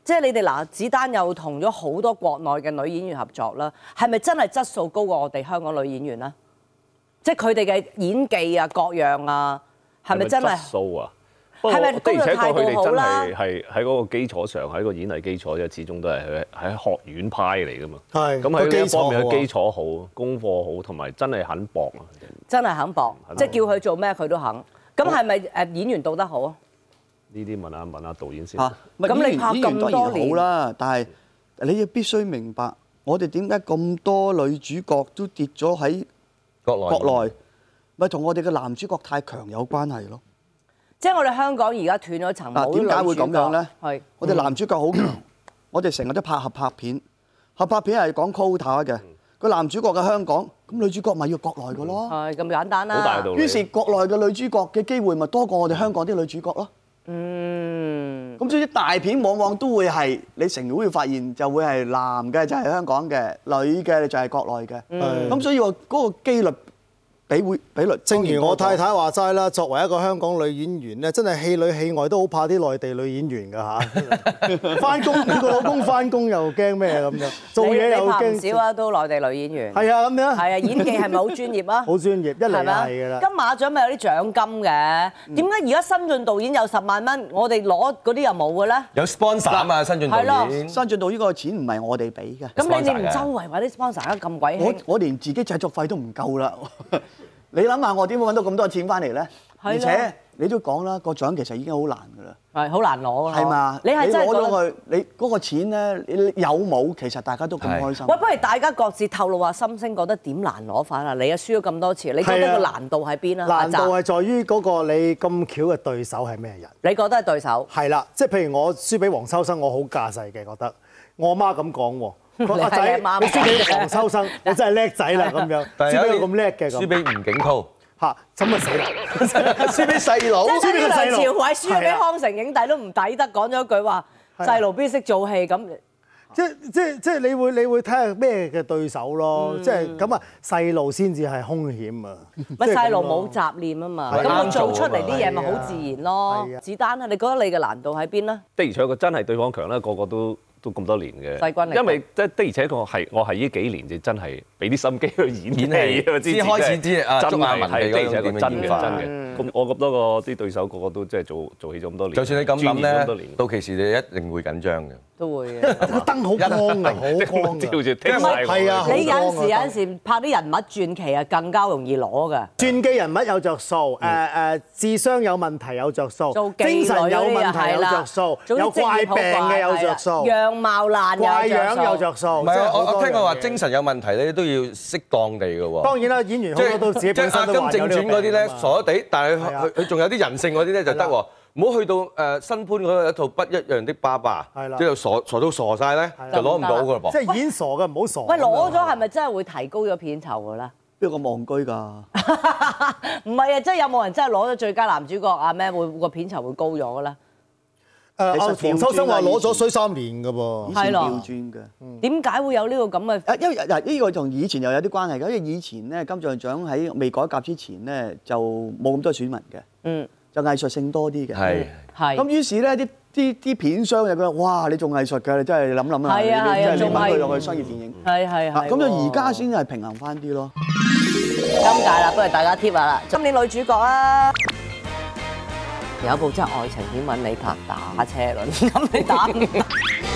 即係你哋嗱，子丹又同咗好多國內嘅女演員合作啦，係咪真係質素高過我哋香港女演員咧？即係佢哋嘅演技啊、各樣啊，係咪真係？ 質素啊？ 係咪的而且確佢哋真啦？ 係喺嗰個基礎上，喺個演藝基礎啫，始終都係喺學院派嚟噶嘛。 係咁喺呢一方面嘅基礎好，功課好，同埋真係肯搏啊！ 真係肯搏，即係叫佢做咩佢都肯。咁係咪演員導得好啊？ 呢啲問下導演先。 咁你拍咁多年好啦，但係你要必須明白，我哋點解咁多女主角都跌咗喺國內，咪同我哋嘅男主角太強有關係咯。 即係我哋香港而家斷咗層，冇女主角。 點解會咁樣咧？ 係我哋男主角好強，我哋成日都拍合拍片，合拍片係講 quota 嘅。個男主角嘅香港，咁女主角咪要國內嘅咯。 係咁簡單啦。 好大道理。 於是國內嘅女主角嘅機會咪多過我哋香港啲女主角咯。咁所以大片往往都會係你成日會發現就會係男嘅就係香港嘅，女嘅就係國內嘅。咁所以話嗰個機率比率， 正如我太太話齋啦，作為一個香港女演員咧，真係戲裏戲外都好怕啲內地女演員㗎嚇。翻工佢個老公翻工又驚咩咁樣，做嘢又驚。 你拍唔少啊，都內地女演員。 係啊，咁樣。 係啊，演技係咪好專業啊？ 好專業，一嚟就係㗎啦。 金馬獎咪有啲獎金嘅，點解而家新晉導演有10萬蚊，我哋攞嗰啲又冇嘅咧？ 有 sponsor 啊嘛，新晉導演。 新晉導演個錢唔係我哋俾嘅。 咁你唔周圍揾啲 sponsor 而家咁鬼興？ 我連自己製作費都唔夠啦。你諗下，我點會揾到咁多錢翻嚟咧？而且你都講啦，個獎其實已經好難㗎啦。 係好難攞㗎。 係嘛？ 你係真係攞咗佢，你嗰個錢咧，你有冇？其實大家都咁開心。 喂，不如大家各自透露下心聲，覺得點難攞法啊？你啊輸咗咁多次，你覺得個難度喺邊啊？ 難度係在於嗰個你咁巧嘅對手係咩人？ 你覺得係對手？ 係啦，即係譬如我輸俾黃秋生，我好架勢嘅覺得。我媽咁講喎。阿仔，你輸俾黃秋生，你真係叻仔啦咁樣，輸俾咁叻嘅咁。 輸俾吳景濤嚇，咁啊死啦！ 輸俾細佬， 輸俾梁朝偉，輸咗俾康城影帝都唔抵得，講咗句話細路邊識做戲咁。 即係你會睇下咩嘅對手咯，即係咁啊細路先至係兇險啊！ 咪細路冇雜念啊嘛，咁佢做出嚟啲嘢咪好自然咯。子丹啊，你覺得你嘅難度喺邊咧？ 的而且確真係對方強啦，個個都咁多年嘅。 勢均力敵。 因為的而且確我係呢幾年就真係俾啲心機去演戲， 先開始知啊真鍾亞文係的而且確點樣真演化嘅。咁我咁多個啲對手個個都即係做戲咗咁多年， 就算你咁諗專業咁多咧年， 到期時你一定會緊張嘅。 都會嘅。 個燈好光啊，好光照啊！ 住聽晒我。 係啊， 你有陣時拍啲人物傳奇啊，更加容易攞㗎。 傳記人物有着數，智商有問題有着數， 做精神有問題有着數，有怪病嘅有着數， 樣貌爛怪樣有着數。 唔係啊，我聽過話精神有問題咧，都要適當地嘅喎。 當然啦，演員好多都自己本身都即係《阿金正傳》嗰啲咧，傻傻地，但係佢仲有啲人性嗰啲咧就得喎。唔好去到新潘嗰個一套不一樣的爸爸，即係傻到傻晒咧，就攞唔到㗎噃。 即係演傻嘅唔好傻。 喂，攞咗係咪真係會提高咗片酬㗎咧？ 邊個望居㗎？ 唔係啊，即係有冇人真係攞咗最佳男主角啊？咩會個片酬會高咗㗎咧？ 黃秋生話攞咗衰3年㗎噃， 以前調轉嘅。 點解會有呢個咁嘅？ 因為呢個同以前又有啲關係嘅，因為以前咧金像獎喺未改革之前咧就冇咁多選民嘅，就藝術性多啲嘅。 係。 咁於是咧啲片商就覺得哇，你做藝術㗎，你真係諗啦， 係啊， 你真係拎佢落去商業電影。 係。 咁就而家先係平衡翻啲咯。 今屆啦，不如大家貼下啦。今年女主角啊，有一部真係愛情片揾你拍打車輪，咁你打唔打？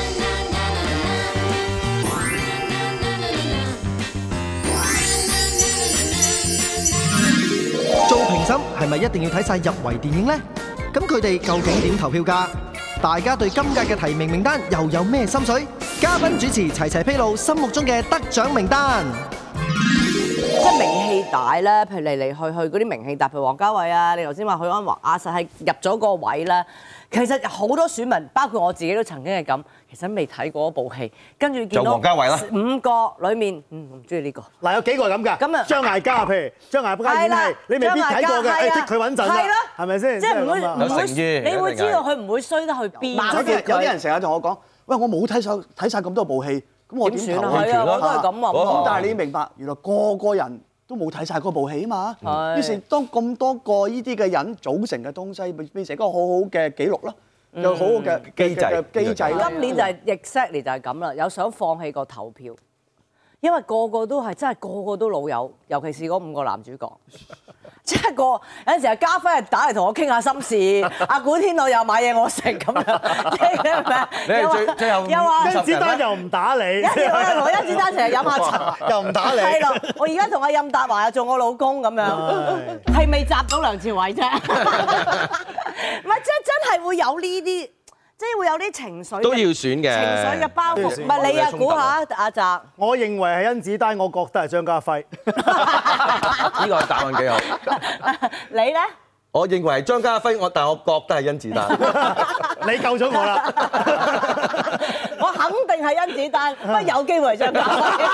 做評審係咪一定要睇晒入圍電影呢？咁佢哋究竟點投票㗎？大家對今屆嘅提名名單又有咩心水？嘉賓主持齊齊披露心目中嘅得獎名單。 即係名氣大咧，譬如嚟嚟去去嗰啲名氣大，譬如王家衛啊，你頭先話許鞍華啊，實係入咗個位咧。其實好多選民，包括我自己都曾經係咁，其實未睇過嗰部戲，跟住見到王家衛啦 5個裡面，我唔中意呢個。 嗱有幾個咁㗎？ 咁啊張艾嘉譬如張艾嘉演戲，你未必睇過嘅，剔佢穩陣啦，係咪先？ 即係唔會有誠意， 你會知道佢唔會衰得去邊。 有啲人成日同我講，喂，我冇睇晒咁多部戲，咁我點算投啊？係啊，我都係咁話。 咁但係你明白，原來個個人都冇睇晒嗰部戲啊嘛。於是當咁多個呢啲嘅人組成嘅東西，變成一個好好嘅記錄咯。 有好嘅機制啦。 今年就係 exactly 就係咁啦，有想放棄個投票，因為個個都係真係個個都老友，尤其是嗰5個男主角。即係有陣時阿家輝係打嚟同我傾下心事，阿古天樂又買嘢我食咁樣， 你係最後又話甄子丹又唔打你， 我又同甄子丹成日飲下茶， 又唔打你。 係咯，我而家同阿任達華又做我老公咁樣，係未集到梁朝偉啫。唔係，即係真係會有呢啲，即係會有啲情緒都要選嘅情緒嘅包袱。唔係你啊，估下阿澤。 我認為係甄子丹，我覺得係張家輝。 呢個答案幾好。 你咧？ 我認為係張家輝，但我覺得係甄子丹。 你救咗我啦！ 我肯定係甄子丹，不過有機會係張家輝。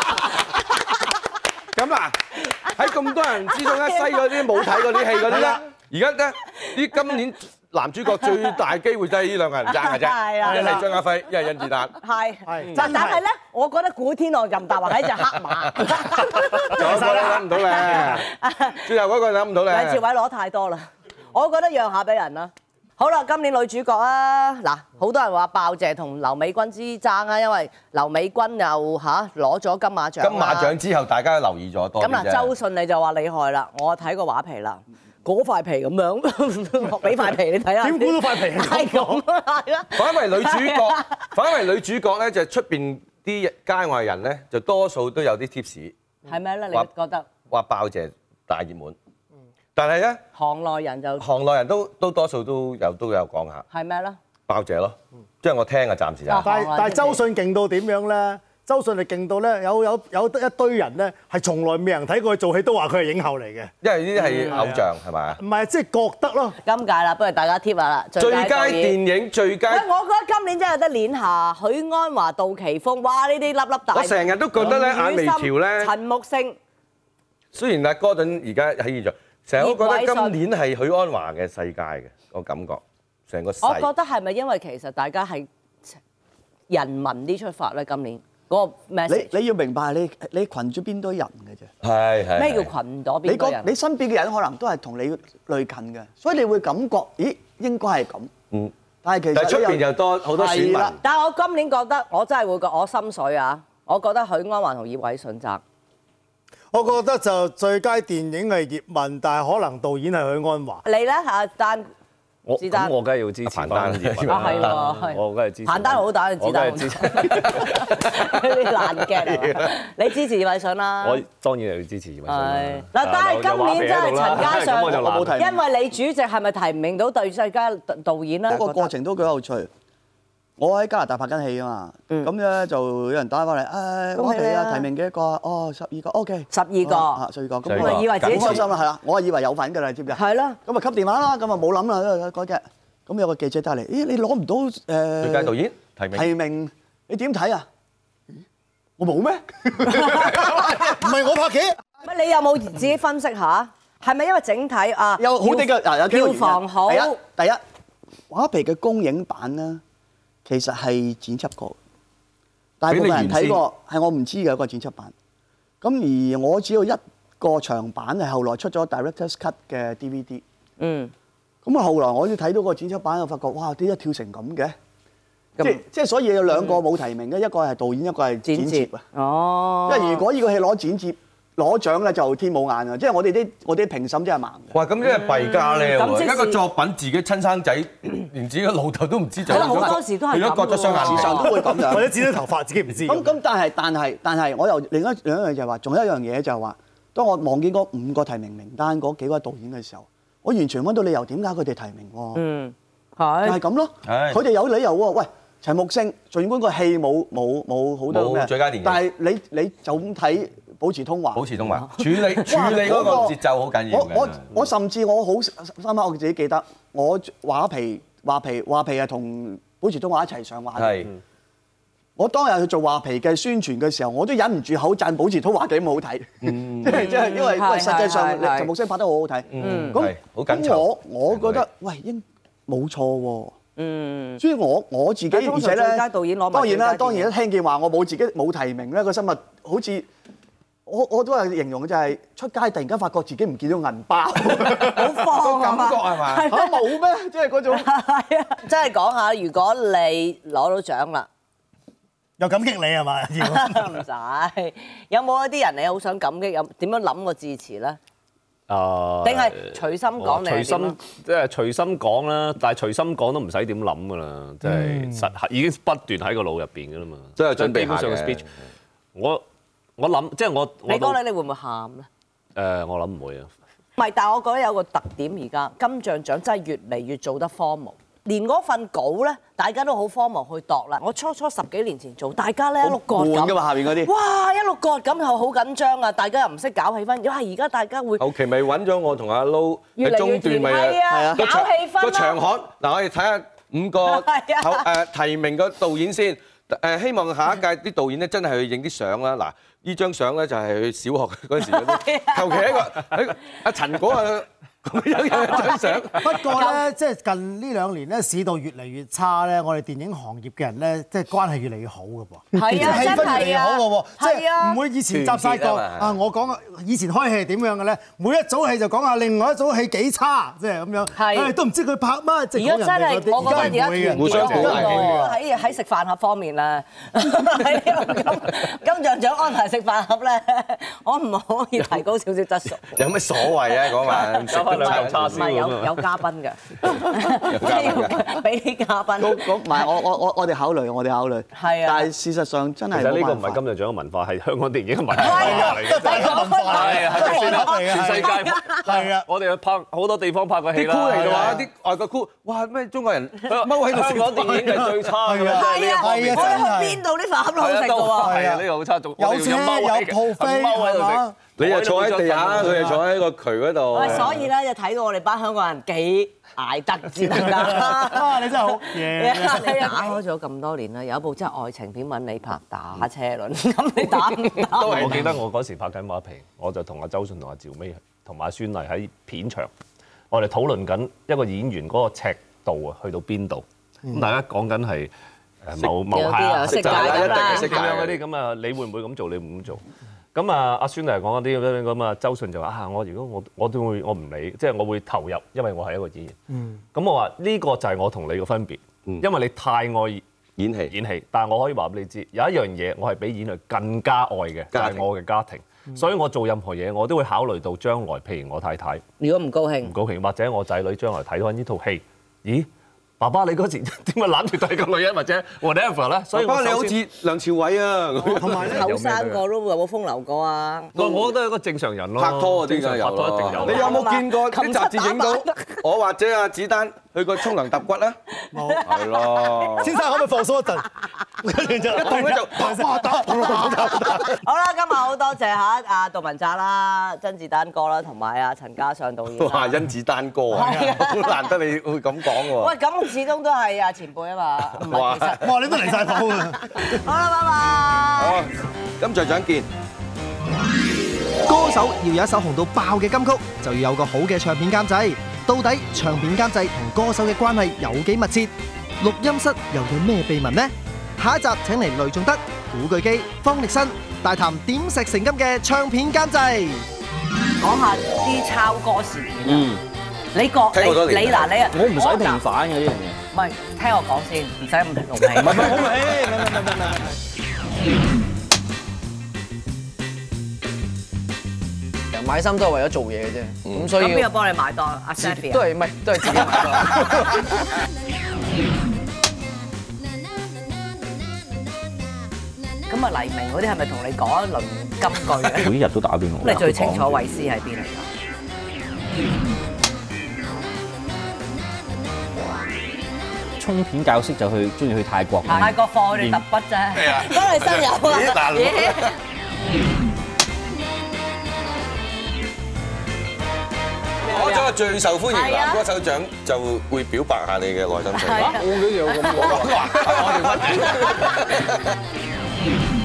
咁嗱，喺咁多人之中咧，西嗰啲冇睇嗰啲戲嗰啲咧，而家咧啲今年男主角最大機會就係呢兩個人爭嘅啫，一係張家輝，一係甄子丹。 係，但係咧，我覺得古天樂、任達華係一隻黑馬。 仲有個你諗唔到咧，最後嗰個諗唔到咧。 梁朝偉攞太多啦，我覺得讓下俾人啦。好啦，今年女主角啊，嗱，好多人話鮑姐同劉美君之爭啊，因為劉美君又攞咗金馬獎。 金馬獎之後，大家都留意咗多啲啫。 咁嗱，周迅你就話厲害啦，我睇過畫皮啦。嗰塊皮咁樣，俾塊皮你睇下。 點估到塊皮係咁啊？係啦。 反為女主角咧，就出邊啲街外人咧，就多數都有啲 tips。 係咩咧？你覺得？ 話鮑姐大熱門，但係咧， 行內人都多數都有講下。 係咩咧？ 鮑姐咯，即係我聽啊，暫時就。 但係周迅勁到點樣咧？周迅係勁到咧，有一堆人咧係從來未人睇過佢做戲，都話佢係影后嚟嘅。 因為呢啲係偶像係咪啊？ 唔係，即係覺得咯。 今屆啦，不如大家貼下啦。 最佳電影最佳。 我覺得今年真係有得攣下，許鞍華、杜琪峰，哇！呢啲粒粒大。 我成日都覺得咧，眼眉條咧。 陳木勝。 雖然阿哥頓而家喺現場，成日都覺得今年係許鞍華嘅世界嘅個感覺，成個世。 我覺得係咪因為其實大家係人民啲出發咧？今年。嗰個 message 你要明白，你群咗邊堆人嘅啫。 係。 咩叫群咗邊堆人？ 你身邊嘅人可能都係同你類近嘅，所以你會感覺，咦，應該係咁。 嗯。 但係其實出邊又多好多選民。 但係我今年覺得，我真係會覺我心水啊！我覺得許鞍華同葉偉信爭。 我覺得就最佳電影係葉問，但係可能導演係許鞍華。 你咧阿丹？ 我梗係要支持彭丹係喎， 我梗係支持。 彭丹好打，子丹好支持。啲爛嘅，你支持葉偉信啦。 我當然係要支持葉偉信。 嗱，但係今年真係陳嘉上，因為你主席係咪提名到最佳導演咧？ 嗰個過程都幾有趣。我喺加拿大拍緊戲啊嘛，咁咧就有人打翻嚟，我哋啊提名幾多個啊？哦，12個 OK， 12個 ，12個， 咁我以為自己開心啦，係啦，我係以為有份㗎啦，知唔知啊？ 係咯， 咁啊吸電話啦，咁啊冇諗啦嗰隻，咁有個記者打嚟，咦你攞唔到最佳導演提名，你點睇啊？我冇咩？唔係我拍嘅。 乜你有冇自己分析下？係咪因為整體啊？ 有好啲嘅有票房好。 第一畫皮嘅公映版咧。其實係剪輯過，大部分人睇過，係我唔知嘅一個剪輯版。咁而我只有一個長版係後來出咗 Director's Cut 嘅 DVD。咁啊後來我要睇到個剪輯版，我發覺哇點解跳成咁嘅？即係所以有兩個冇提名嘅，一個係導演，一個係剪接啊。 哦。因為如果呢個戲攞剪接攞獎咧，就天冇眼啊！即係我哋啲評審真係盲嘅。 哇！咁即係弊家咧喎，一個作品自己親生仔，連自己嘅老豆都唔知就。 好多時都係咁。 如果割咗雙眼皮， 時常都會咁樣。 或者剪咗頭髮，自己唔知。 咁但係，我又另一樣就係話，仲有一樣嘢就係話，當我望見嗰5個提名名單嗰幾位導演嘅時候，我完全揾到理由點解佢哋提名喎。係。就係咁咯。係。佢哋有理由喎。喂，陳木勝，儘管個戲冇好多咩， 最佳電影， 但係你就咁睇。保持通話，處理嗰個節奏好緊要。我甚至我好深刻，我自己記得，我畫皮係同保持通話一齊上畫嘅。我當日去做畫皮嘅宣傳嘅時候，我都忍唔住口讚保持通話幾咁好睇。即係因為實際上陳木勝拍得好好睇。咁我覺得喂冇錯喎。所以我自己而且咧，當然啦，聽見話我冇提名咧，個心物好似。 我都係形容就係出街突然間發覺自己唔見咗銀包， 好慌感覺係嘛？ 嚇冇咩？即係嗰種。 係啊，真係講下，如果你攞到獎啦， 又感激你係嘛？ 唔使，有冇一啲人你好想感激？有點樣諗個致辭咧？定係隨心講你係點啊？ 隨心即係隨心講啦，但係隨心講都唔使點諗㗎啦，即係實已經不斷喺個腦入邊㗎啦嘛。 即係準備基本上嘅 speech，我諗即係我你講你會唔會喊咧？ 我諗唔會啊。 唔係，但係我覺得有個特點，而家金像獎真係越嚟越做得荒謬。連嗰份稿咧，大家都好荒謬去度啦。我初10幾年前做，大家咧一路割咁， 悶㗎嘛下邊嗰啲。 哇，一路割咁又好緊張啊！大家又唔識搞氣氛，因為而家大家會後期咪揾咗我同阿 Lo 喺中段咪係啊，搞氣氛個場啦。 刊嗱，我哋睇下5個提名嘅導演先。希望下一屆啲導演咧真係去影啲相啦。嗱，呢張相咧就係佢小學嗰陣時嗰啲，求其喺個阿陳果啊咁樣有一張相。 不過咧，即係近呢2年咧，市道越嚟越差咧，我哋電影行業嘅人咧，即係關係越嚟越好嘅噃。 係啊， 氣氛越嚟越好嘅喎，即係啊係唔會以前集晒個啊！我講以前開戲係點樣嘅咧？每一組戲就講下另外一組戲幾差，即係咁樣。 係都唔知佢拍乜，即係而家真係，我覺得而家團互相鼓勵喺食飯盒方面啦，喺呢個金像獎安排食飯盒咧，可唔可以提高少少質素？ 有咩所謂啊？嗰晚加翻兩嚿叉燒唔係有嘉賓嘅，俾啲嘉賓。 唔係我哋考慮，我哋考慮。 係啊但係事實上真係其實呢個唔冇辦法係金像獎嘅文化，係香港電影嘅文化嚟嘅。 係講翻係啊，係咪先啊？全世界係啊， 我哋去拍好多地方拍過戲啦。 啲箍嚟嘅話，啲外國箍，哇咩中國人踎喺度香港電影係最差㗎啦，即係呢一方面。 我哋去邊度啲飯盒都好食㗎喎。 係啊，呢個好差，仲有車有鋪飛喺度係嘛食。 你又坐喺地下，佢又坐喺個渠嗰度。 喂，所以咧就睇到我哋班香港人幾捱得先得㗎。 啊！你真係好嘢。 你打開咗咁多年啦，有一部真係愛情片揾你拍打車輪，咁你打唔打？ 我記得我嗰時拍緊馬皮，我就同阿周迅同阿趙薇同埋阿孫儷喺片場，我哋討論緊一個演員嗰個尺度啊，去到邊度？咁大家講緊係某有啲啊，色戒咁啦， 咁樣嗰啲咁啊，你會唔會咁做？你會唔會咁做？咁啊，阿孫嚟講嗰啲咁啊，周迅就話啊，如果我都會我唔理，即係我會投入，因為我係一個演員。咁我話呢個就係我同你嘅分別，因為你太愛演戲，但係我可以話俾你知，有一樣嘢我係比演戲更加愛嘅，就係我嘅家庭。所以我做任何嘢，我都會考慮到將來，譬如我太太如果唔高興唔，高興，或者我仔女將來睇到呢套戲，咦？爸爸你嗰時點解攬住第二個女人或者 whatever 咧？所以我爸爸你好似梁朝偉啊， 同埋咧， 後生個都有冇風流過啊？ 我覺得係一個正常人咯， 拍拖嗰啲正常梗係有拍拖一定有。 你有冇見過啲雜誌影到我或者阿子丹去過沖涼揼骨啊？ 冇係咯， 先生可唔可以放鬆一陣？跟住就一動咧就好啦，今日好多謝嚇阿杜汶澤啦、甄子丹哥啦，同埋阿陳嘉上導演啦。 哇！甄子丹哥啊，好難得你會咁講喎。 喂，咁始終都係阿前輩啊嘛，唔係其實。 哇！你都離晒譜啊！ 好啦，拜拜。 好，金像獎見。 歌手要有一首紅到爆嘅金曲，就要有個好嘅唱片監製。到底唱片監製同歌手嘅關係有幾密切？錄音室又有咩秘密呢？下一集請嚟雷頌德、古巨基、方力申大談點石成金嘅唱片監製。 講下啲抄歌事件啊！你覺聽好多年你嗱你啊， 我唔使平反嘅呢樣嘢。 唔係聽我講先，唔使咁同氣。 唔係好買衫都係為咗做嘢嘅啫，咁所以咁邊個幫你買多阿 Safi 都係唔係都係自己買多。 咁啊黎明嗰啲係咪同你講一輪金句嘅？ 每日都打俾我。 咁你最清楚衛詩喺邊嚟㗎？ 沖片教識就中意去泰國。 泰國課佢哋揼筆啫，幫你生友啊！ 攞咗個最受歡迎男歌手獎，就會表白下你嘅內心世界。 係啊我哋屈